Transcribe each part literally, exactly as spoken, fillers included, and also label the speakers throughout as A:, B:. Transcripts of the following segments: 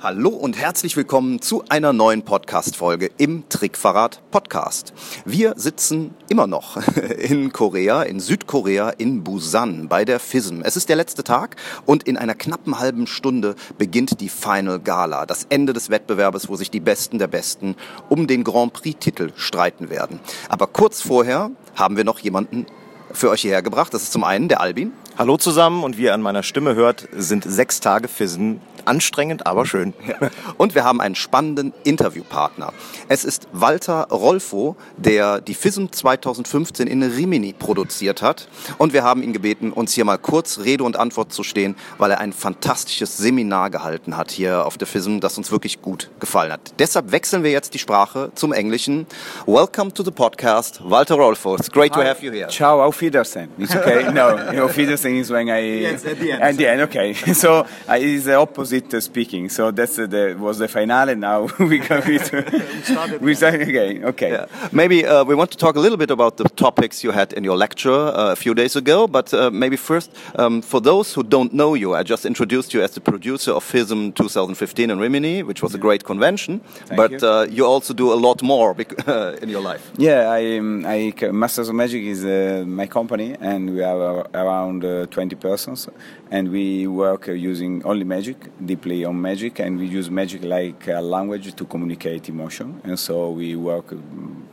A: Hallo und herzlich willkommen zu einer neuen Podcast-Folge im Trickverrat Podcast. Wir sitzen immer noch in Korea, in Südkorea, in Busan bei der F I S M. Es ist der letzte Tag und in einer knappen halben Stunde beginnt die Final Gala, das Ende des Wettbewerbes, wo sich die Besten der Besten um den Grand Prix-Titel streiten werden. Aber kurz vorher haben wir noch jemanden für euch hierher gebracht. Das ist zum einen der Albin.
B: Hallo zusammen, und wie ihr an meiner Stimme hört, sind sechs Tage F I S M anstrengend, aber schön.
A: Ja. Und wir haben einen spannenden Interviewpartner. Es ist Walter Rolfo, der die F I S M zwanzig fünfzehn in Rimini produziert hat. Und wir haben ihn gebeten, uns hier mal kurz Rede und Antwort zu stehen, weil er ein fantastisches Seminar gehalten hat hier auf der F I S M, das uns wirklich gut gefallen hat. Deshalb wechseln wir jetzt die Sprache zum Englischen. Welcome to the podcast, Walter Rolfo. It's great
C: Hi.
A: to have you here.
C: Ciao, auf Wiedersehen. It's okay. No, auf Wiedersehen is when I...
A: Yes, at the end.
C: At the end, okay. So uh, it's the opposite uh, speaking. So that's uh, the was the finale. Now we go with... we start again. Okay.
A: Yeah. Maybe uh, we want to talk a little bit about the topics you had in your lecture uh, a few days ago, but uh, maybe first, um, for those who don't know you, I just introduced you as the producer of F I S M twenty fifteen in Rimini, which was a great convention,
C: Thank
A: but
C: you.
A: Uh, you also do a lot more bec- uh, in your life.
C: Yeah, I, um, I Masters of Magic is uh, my company, and we are uh, around uh, twenty persons, and we work uh, using only magic, deeply on magic, and we use magic like a language to communicate emotion, and so we work um,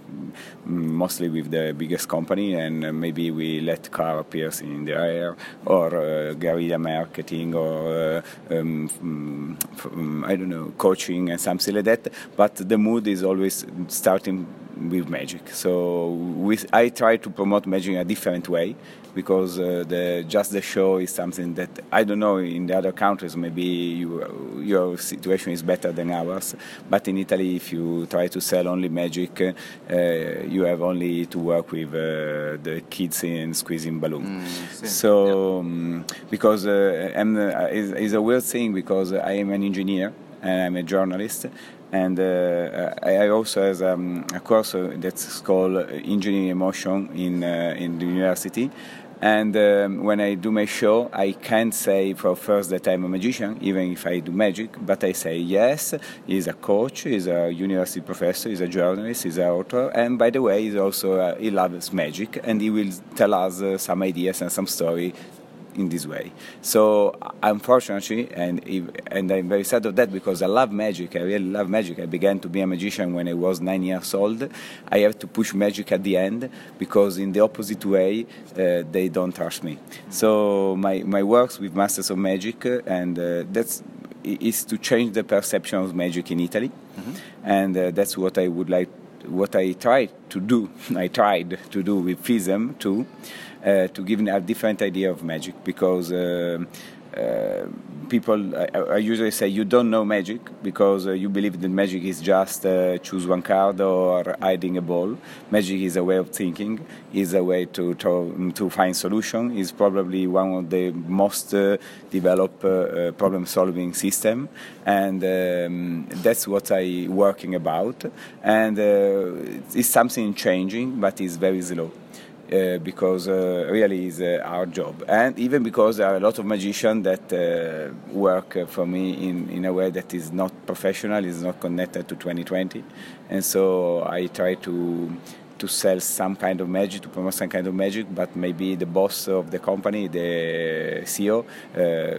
C: mostly with the biggest company, and uh, maybe we let car appear in the air, or uh, guerrilla marketing, or uh, um, f- um, I don't know, coaching and something like that, but the mood is always starting with magic. So with, I try to promote magic in a different way, because uh, the just the show is something that I don't know in the other countries. Maybe you, your situation is better than ours, but in Italy, if you try to sell only magic, uh, you have only to work with uh, the kids in squeezing balloons. Mm, so yeah. um, because uh, I'm, uh, it's, it's a weird thing, because I am an engineer and I'm a journalist. And uh, I also have um, a course that's called Engineering Emotion in uh, in the university. And um, when I do my show, I can't say for first that I'm a magician, even if I do magic, but I say, yes, he's a coach, he's a university professor, he's a journalist, he's an author, and by the way, he's also uh, he loves magic, and he will tell us uh, some ideas and some story in this way. So unfortunately, and and I'm very sad of that, because I love magic, I really love magic. I began to be a magician when I was nine years old. I have to push magic at the end, because in the opposite way, uh, they don't trust me. So my, my works with Masters of Magic, uh, and uh, that's is to change the perception of magic in Italy. Mm-hmm. And uh, that's what I would like, what I tried to do. I tried to do with F I S M too. Uh, to give a different idea of magic, because uh, uh, people, I, I usually say, you don't know magic because uh, you believe that magic is just uh, choose one card or hiding a ball. Magic is a way of thinking, is a way to to, to find solution, is probably one of the most uh, developed uh, uh, problem-solving system, and um, that's what I'm working about. And uh, it's something changing, but it's very slow. Uh, because uh, really is uh, our job, and even because there are a lot of magicians that uh, work uh, for me in, in a way that is not professional, is not connected to twenty twenty, and so I try to to sell some kind of magic, to promote some kind of magic, but maybe the boss of the company, the C E O, uh,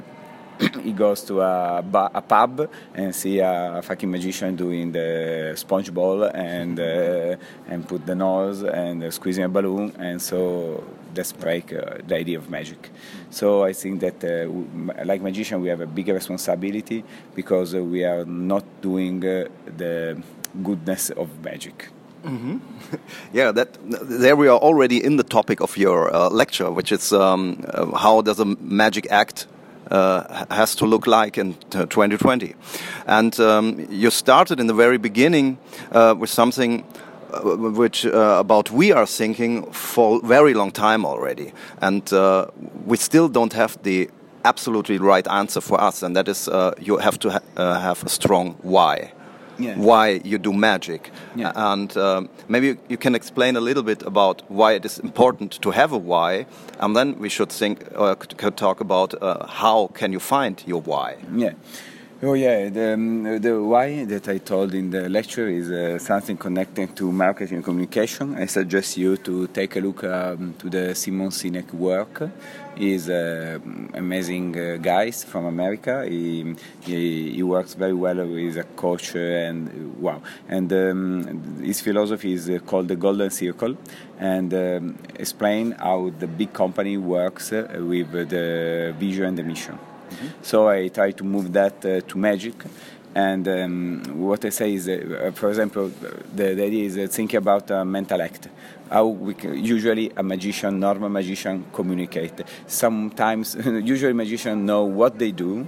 C: he goes to a, ba- a pub and see a, a fucking magician doing the sponge ball and uh, and put the nose and uh, squeezing a balloon, and so that's break uh, the idea of magic. So I think that uh, w- like magician, we have a bigger responsibility, because uh, we are not doing uh, the goodness of magic.
A: Mm-hmm. Yeah, that there we are already in the topic of your uh, lecture, which is um, uh, how does a magic act Uh, has to look like in twenty twenty. And um, you started in the very beginning uh, with something uh, which uh, about we are thinking for a very long time already. And uh, we still don't have the absolutely right answer for us, and that is uh, you have to ha- uh, have a strong why. Yeah. Why you do magic. Yeah. And um, maybe you can explain a little bit about why it is important to have a why, and then we should think or uh, could talk about uh, how can you find your why.
C: Yeah. Oh yeah, the, um, the why that I told in the lecture is uh, something connected to marketing and communication. I suggest you to take a look um, to the Simon Sinek work. He's uh, amazing uh, guy from America. He, he he works very well with a coach uh, and uh, wow. And um, his philosophy is uh, called the Golden Circle, and um, explain how the big company works uh, with uh, the vision and the mission. Mm-hmm. So I try to move that uh, to magic, and um, what I say is, uh, for example, the, the idea is uh, think about a mental act. How we can, usually a magician, normal magician, communicate. Sometimes, usually magicians know what they do,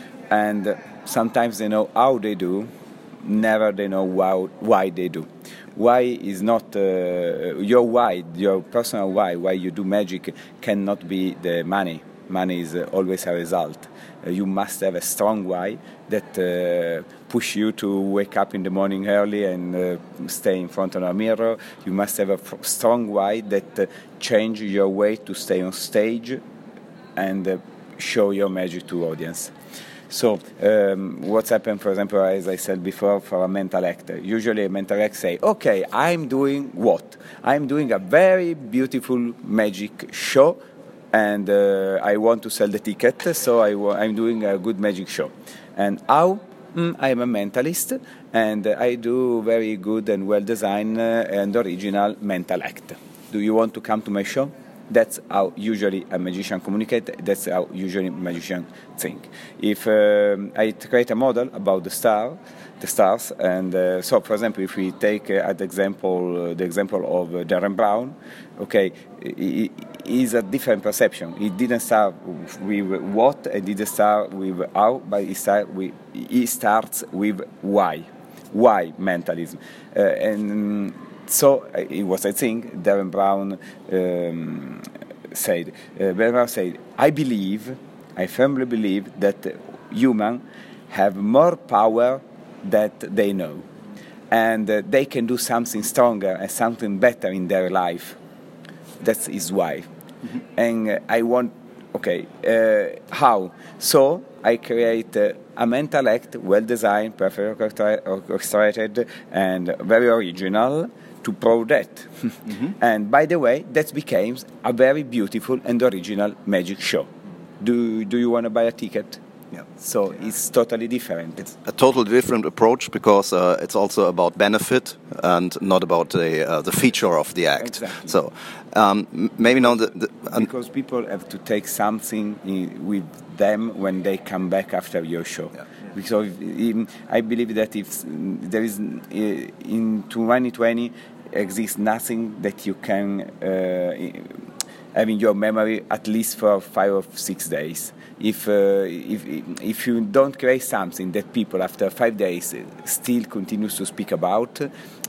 C: and sometimes they know how they do. Never they know why, why they do. Why is not uh, your why, your personal why, why you do magic cannot be the money. Money is uh, always a result. Uh, you must have a strong why that uh, push you to wake up in the morning early and uh, stay in front of a mirror. You must have a f- strong why that uh, change your way to stay on stage and uh, show your magic to audience. So um, what's happened, for example, as I said before, for a mental actor. Usually a mental actor say, okay, I'm doing what? I'm doing a very beautiful magic show, and uh, I want to sell the ticket, so I w- I'm doing a good magic show. And how? Mm, I'm a mentalist, and uh, I do very good and well-designed uh, and original mental act. Do you want to come to my show? That's how usually a magician communicates. That's how usually a magician think. If um, I create a model about the star, the stars, and uh, so, for example, if we take uh, at example uh, the example of uh, Darren Brown, okay, he is a different perception. He didn't start with what and didn't start with how, but he start with he starts with why, why mentalism, uh, and. So it was, I think, Darren Brown um, said. Uh, Darren Brown said, "I believe, I firmly believe that humans have more power that they know, and uh, they can do something stronger and something better in their life. That is why." Mm-hmm. And uh, I want, okay, uh, how? So I create uh, a mental act, well designed, perfectly orchestrated, and very original, to prove that. Mm-hmm. And by the way, that became a very beautiful and original magic show. Do do you want to buy a ticket? Yeah. So it's totally different.
A: It's a totally different approach because uh, it's also about benefit and not about the uh, the feature of the act.
C: Exactly.
A: So um, maybe now the, the
C: because people have to take something in, with them when they come back after your show. Yeah. Because in, I believe that if there is in twenty twenty exists nothing that you can uh, have in your memory at least for five or six days. If uh, if if you don't create something that people after five days still continues to speak about,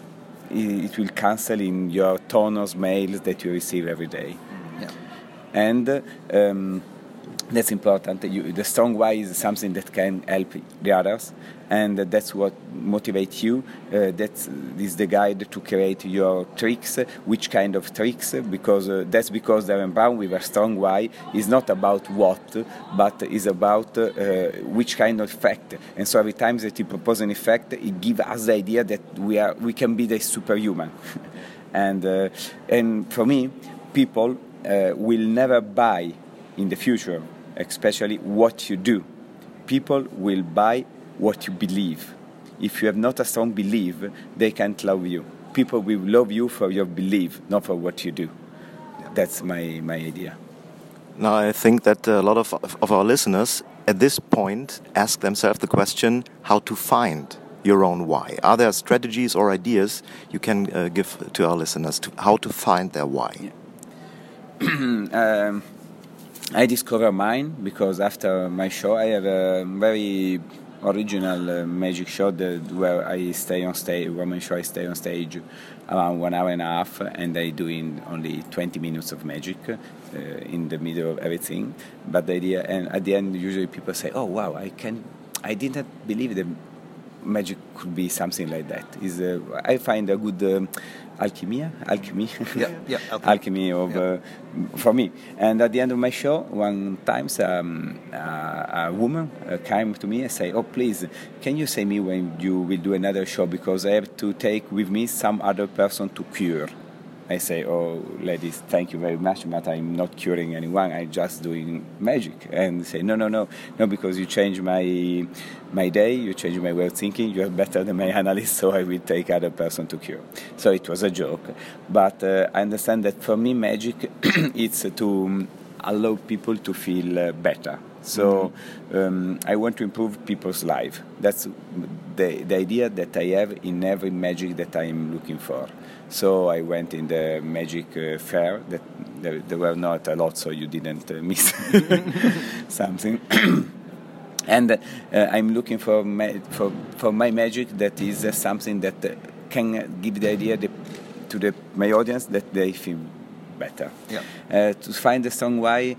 C: it will cancel in your ton of mails that you receive every day. Yeah. And um, that's important. You, the strong why is something that can help the others, and that's what motivates you. Uh, that is the guide to create your tricks. Which kind of tricks? Because uh, that's because Darren Brown with a strong why is not about what, but is about uh, which kind of effect. And so every time that he proposes an effect, it gives us the idea that we are we can be the superhuman. and uh, and for me, people uh, will never buy in the future, especially what you do. People will buy what you believe. If you have not a strong belief, they can't love you. People will love you for your belief, not for what you do. That's my, my idea.
B: Now, I think that a lot of, of our listeners at this point ask themselves the question how to find your own why. Are there strategies or ideas you can uh, give to our listeners to how to find their why?
C: Yeah. um, I discover mine because after my show I have a very original uh, magic show that, where I stay on stage, woman show I stay on stage around one hour and a half, and I do in only twenty minutes of magic uh, in the middle of everything. But the idea, and at the end usually people say, "Oh wow, I can, I didn't believe that magic could be something like that. Is uh, I find a good um, alchemy, alchemy,
A: yeah, yeah, alchemy,
C: alchemy of
A: yeah.
C: uh, for me. And at the end of my show, one time um, uh, a woman uh, came to me and say, "Oh, please, can you say me when you will do another show, because I have to take with me some other person to cure." I say, "Oh, ladies, thank you very much, but I'm not curing anyone. I'm just doing magic." And they say, "No, no, no, no, because you change my my day, you change my way of thinking. You are better than my analyst, so I will take other person to cure." So it was a joke, but uh, I understand that for me, magic it's to allow people to feel uh, better. So um, I want to improve people's life. That's the the idea that I have in every magic that I am looking for. So I went in the magic uh, fair. That there, there were not a lot, so you didn't uh, miss something. And uh, I'm looking for ma- for for my magic that is uh, something that uh, can give the idea the, to the my audience that they feel better.
A: Yeah.
C: Uh, to find the strong why,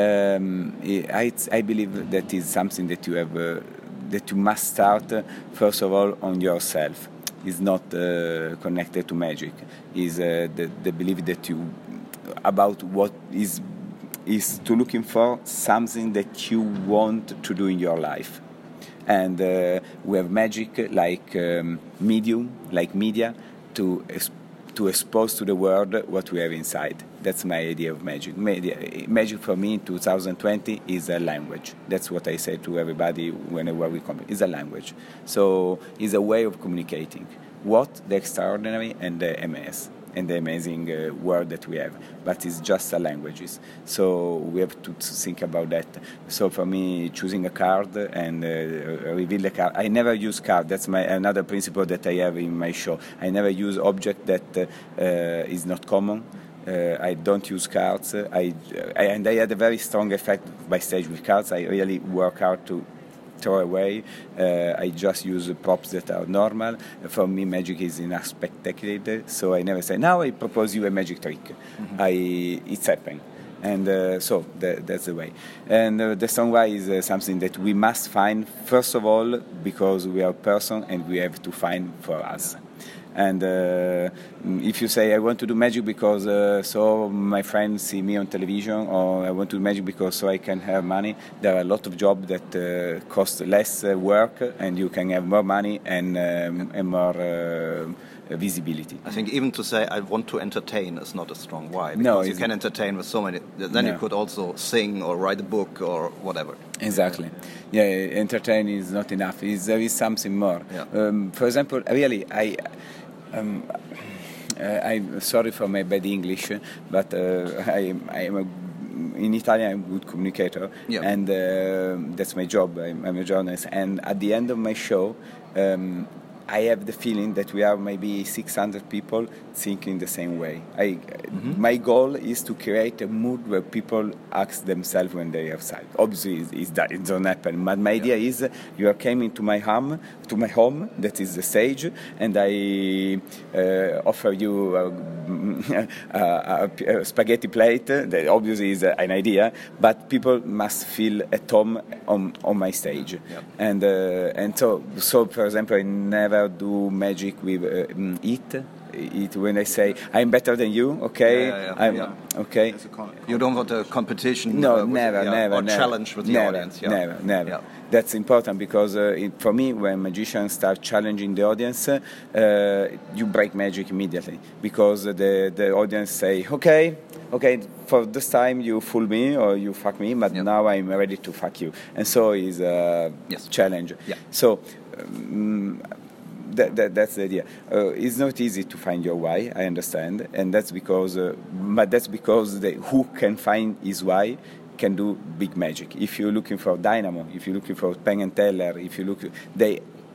C: um, I, I believe that is something that you have uh, that you must start uh, first of all on yourself. Is not uh, connected to magic. Is uh, the, the belief that you about what is is to looking for something that you want to do in your life. And uh, we have magic like um, medium, like media, to to expose to the world what we have inside. That's my idea of magic. Media, magic for me in two thousand twenty is a language. That's what I say to everybody whenever we come. It's a language. So it's a way of communicating what the extraordinary and the M S and the amazing uh, world that we have. But it's just a languages. So we have to think about that. So for me, choosing a card and uh, reveal the card. I never use card. That's my another principle that I have in my show. I never use object that uh, uh, is not common. Uh, I don't use cards. I, I and I had a very strong effect by stage with cards. I really work hard to throw away. Uh, I just use props that are normal. For me, magic is in a spectacular. So I never say, "Now I propose you a magic trick." Mm-hmm. I it's happening. And uh, so that, that's the way. And uh, the strong why is uh, something that we must find, first of all, because we are a person and we have to find for us. And uh, if you say, "I want to do magic because uh, so my friends see me on television," or "I want to do magic because so I can have money," there are a lot of jobs that uh, cost less uh, work and you can have more money and, um, and more uh, visibility.
A: I think even to say, "I want to entertain" is not a strong why. Because
C: no,
A: you can entertain with so many. Then
C: no.
A: you could also sing or write a book or whatever.
C: Exactly. Yeah, entertain is not enough. It's, there is something more.
A: Yeah.
C: Um, for example, really, I... Um, uh, I'm sorry for my bad English, but uh, I, I'm a, in Italian I'm a good communicator,
A: yeah.
C: and uh, that's my job. I'm, I'm a journalist, and at the end of my show, um, I have the feeling that we are maybe six hundred people thinking the same way. I, mm-hmm. My goal is to create a mood where people ask themselves when they are outside. Obviously, it's, it's that it doesn't happen. But my yeah. idea is you are coming to my home, to my home. That is the stage, and I uh, offer you a, a, a, a spaghetti plate. That obviously is an idea, but people must feel at home on on my stage.
A: Yeah.
C: And uh, and so so for example, I never do magic with uh, eat. It, when I say I'm better than you, okay,
A: yeah, yeah,
C: I'm
A: yeah.
C: okay.
A: Con- you don't want a competition.
C: No,
A: uh, with,
C: never,
A: yeah,
C: never,
A: or
C: never.
A: challenge with the
C: never,
A: audience. Yeah.
C: Never, never.
A: Yeah.
C: That's important because uh, it, for me, when magicians start challenging the audience, uh, you break magic immediately because the the audience say, okay, okay, for this time you fool me or you fuck me, but
A: yep.
C: now I'm ready to fuck you, and so is a
A: yes.
C: challenge.
A: Yeah.
C: So. Um, That, that, that's the idea. Uh, it's not easy to find your why, I understand, and that's because, uh, but that's because the, who can find his why can do big magic. If you're looking for Dynamo, if you're looking for Penn and Teller, if you look, they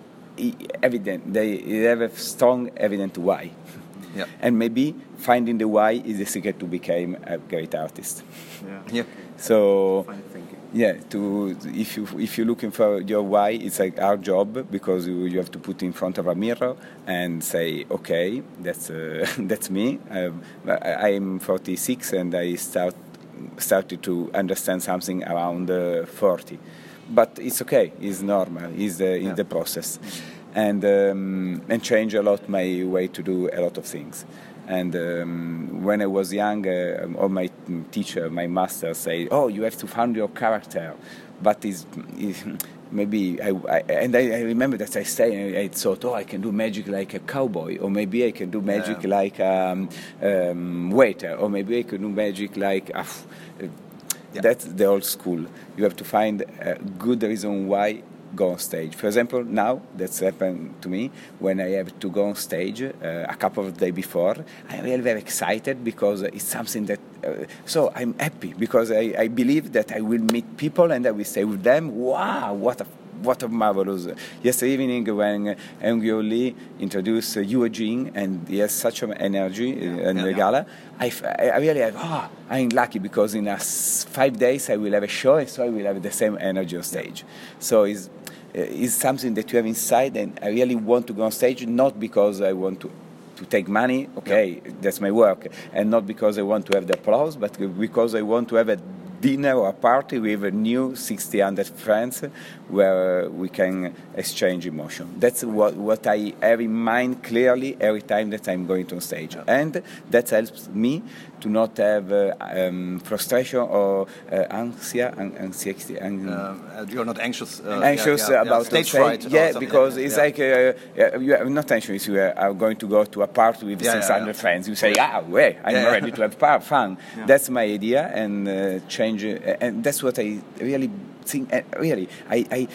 C: evident, they have a strong, evident why,
A: yeah.
C: and maybe finding the why is the secret to become a great artist.
A: Yeah. yeah.
C: So. Yeah, to if you if you're looking for your why, it's like our job because you, you have to put in front of a mirror and say, okay, that's uh, that's me. Um, I'm forty-six and I start started to understand something around uh, forty, but it's okay. It's normal. It's the, yeah. it's the process. and um, and change a lot my way to do a lot of things. And um, when I was young, uh, or my teacher, my master, say, "Oh, you have to find your character," but is maybe I, I and I, I remember that I say I thought, "Oh, I can do magic like a cowboy, or maybe I can do magic
A: yeah.
C: like a um, um, waiter, or maybe I can do magic like." Uh,
A: yeah.
C: That's the old school. You have to find a good reason why go on stage. For example, now that's happened to me when I have to go on stage uh, a couple of days before. I'm really very excited because it's something that. Uh, so I'm happy because I, I believe that I will meet people and I will stay with them. Wow, what a what a marvelous! Yesterday evening when uh, Ngo Lee introduced uh, Yu Jing and he has such an energy uh, in
A: yeah,
C: the
A: yeah.
C: gala, I, f- I really have, oh, I'm lucky because in a s- five days I will have a show and so I will have the same energy on stage. So it's, it's something that you have inside and I really want to go on stage, not because I want to to take money, okay, yeah. That's my work, and not because I want to have the applause, but because I want to have a dinner or a party with a new sixty hundred friends where we can exchange emotion. That's what, what I have in mind clearly every time that I'm going on stage. And that helps me to not have uh, um, frustration or uh, anxia, an- anxiety. An-
A: uh, you're not anxious. Uh,
C: anxious
A: yeah, yeah,
C: about
A: yeah. stage
C: stage.
A: fright.
C: Yeah,
A: or
C: because
A: yeah,
C: it's
A: yeah.
C: like uh, you are not anxious. You are going to go to a party with
A: Yeah,
C: six hundred
A: yeah, yeah.
C: friends. You say, ah, wait, I'm
A: Yeah,
C: ready
A: yeah.
C: to have par- fun.
A: Yeah.
C: That's my idea, and uh, change. Uh, and that's what I really think. Uh, really, I, I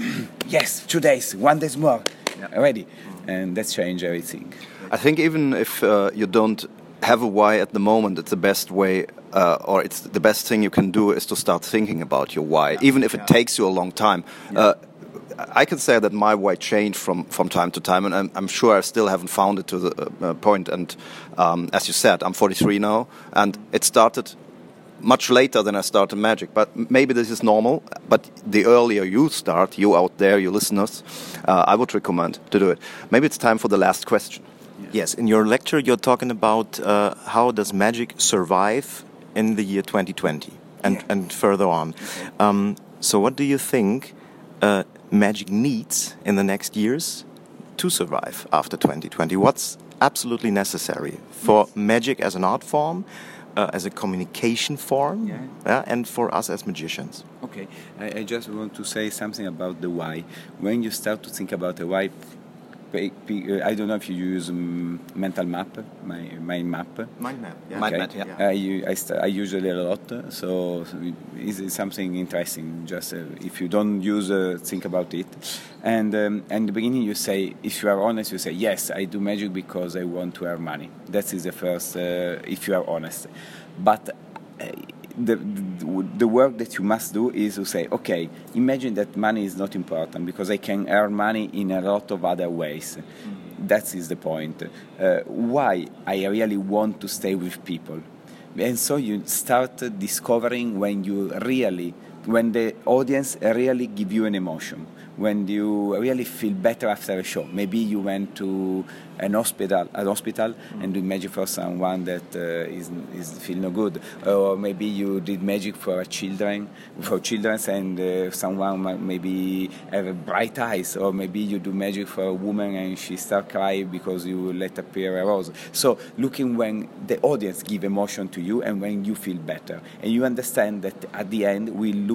C: yes, two days, one day more,
A: Yeah.
C: ready, and that's change everything.
A: I think even if uh, you don't have a why at the moment, it's the best way, uh, or it's the best thing you can do is to start thinking about your why, yeah. even if it yeah. takes you a long time. Yeah. Uh, I can say that my why changed from, from time to time, and I'm, I'm sure I still haven't found it to the uh, point. And um, as you said, I'm forty-three now, and it started much later than I started magic. But maybe this is normal. But the earlier you start, you out there, you listeners, uh, I would recommend to do it. Maybe it's time for the last question.
B: Yes, in your lecture you're talking about uh, how does magic survive in the year twenty twenty and, yeah. and further on. Okay. Um, so what do you think uh, magic needs in the next years to survive after twenty twenty? What's absolutely necessary for yes. magic as an art form, uh, as a communication form, yeah. uh, and for us as magicians?
C: Okay, I, I just want to say something about the why. When you start to think about the why, I don't know if you use um, mental map, my mind map.
B: Mind map, yeah.
C: Okay.
A: Mind map, yeah.
C: I, I, st- I use it a lot, so it's something interesting. Just uh, if you don't use, uh, think about it. And um, in the beginning, you say, if you are honest, you say, yes, I do magic because I want to earn money. That is the first, uh, if you are honest. But uh, The, the the work that you must do is to say, okay, imagine that money is not important because I can earn money in a lot of other ways. Mm-hmm. That is the point. Uh, why I really want to stay with people. And so you start discovering when you really, when the audience really give you an emotion, when you really feel better after a show. Maybe you went to an hospital, an hospital, mm. and do magic for someone that uh, is is feel no good, or maybe you did magic for children, for children, and uh, someone maybe have bright eyes, or maybe you do magic for a woman and she start crying because you let appear a rose. So looking when the audience give emotion to you and when you feel better, and you understand that at the end we look.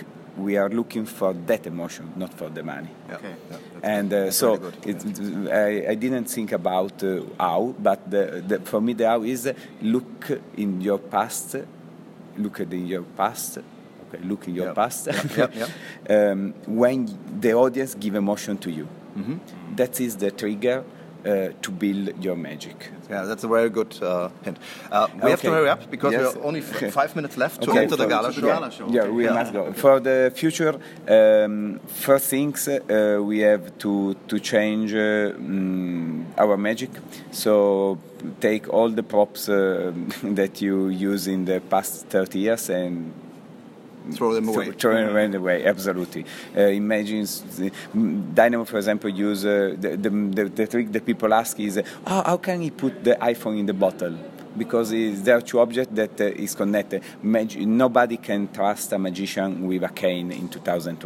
C: We are looking for that emotion, not for the money.
A: Yeah.
C: Okay.
A: Yeah,
C: and uh, so it, I, I didn't think about uh, how, but the, the, for me the how is uh, look in your past, look at in your past, okay, look in your
A: yeah.
C: past,
A: yeah, yeah, yeah.
C: um, when the audience give emotion to you. Mm-hmm. That is the trigger uh, to build your magic.
A: Yeah, that's a very good uh, hint. Uh, we
C: okay.
A: have to hurry up because
C: yes.
A: we have only f- five minutes left to
C: okay.
A: enter the gala show.
C: Yeah, show. yeah we yeah. must go. For the future, um, first things uh, we have to to change uh, um, our magic. So take all the props uh, that you use in the past thirty years and
A: throw them away.
C: Throw them away, absolutely. Uh, imagine Dynamo, for example, use uh, the, the, the, the trick that people ask is, oh, how can he put the iPhone in the bottle? Because there are two objects that uh, is connected. Mag- nobody can trust a magician with a cane in two thousand twenty.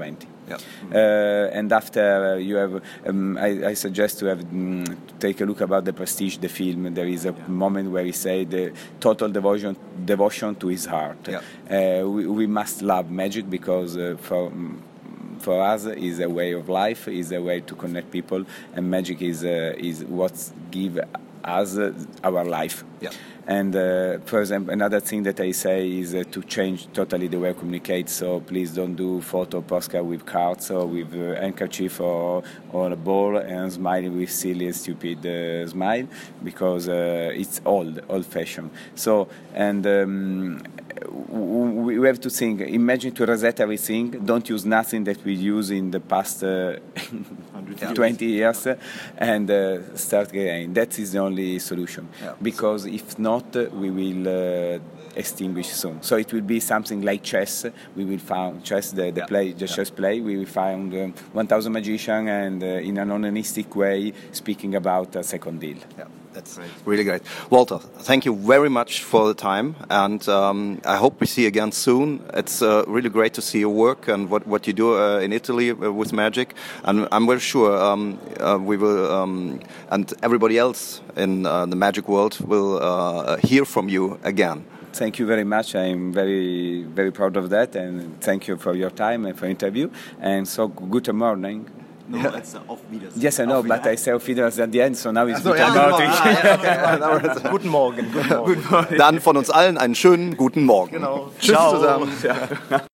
A: Yeah.
C: Uh, and after you have, um, I, I suggest to have um, to take a look about the Prestige, the film. There is a yeah. moment where he said the total devotion, devotion to his heart.
A: Yeah.
C: Uh, we, we must love magic because uh, for. For us, is a way of life, is a way to connect people, and magic is uh, is what gives us uh, our life.
A: Yeah.
C: And uh, for example, another thing that I say is uh, to change totally the way I communicate. So please don't do photo postcard with cards or with uh, handkerchief or, or a ball and smiling with silly and stupid uh, smile, because uh, it's old, old-fashioned. So and. Um, we have to think, imagine to reset everything, don't use nothing that we use in the past uh, twenty years and uh, start again. That is the only solution. Yeah. Because if not, we will uh, extinguish soon. So it will be something like chess. We will find chess, the, the yeah. play, the yeah. chess play. We will find um, one thousand magicians and uh, in an onanistic way speaking about a second deal.
A: Yeah. That's great. Really great. Walter, thank you very much for the time, and um, I hope we see you again soon. It's uh, really great to see your work and what, what you do uh, in Italy uh, with magic, and I'm very sure um, uh, we will, um, and everybody else in uh, the magic world will uh, hear from you again.
C: Thank you very much. I'm very, very proud of that, and thank you for your time and for the interview. And so, good morning.
B: No, yeah. It's uh, auf Wiedersehen.
C: Yes, I know,
B: auf
C: but I say auf Wiedersehen at the end, so now it's
A: so,
C: good
A: ja,
C: morning.
B: Guten Morgen. Guten Morgen.
A: Dann von uns allen einen schönen guten Morgen.
B: Genau.
A: Tschüss
B: Ciao.
A: zusammen.
C: Ja.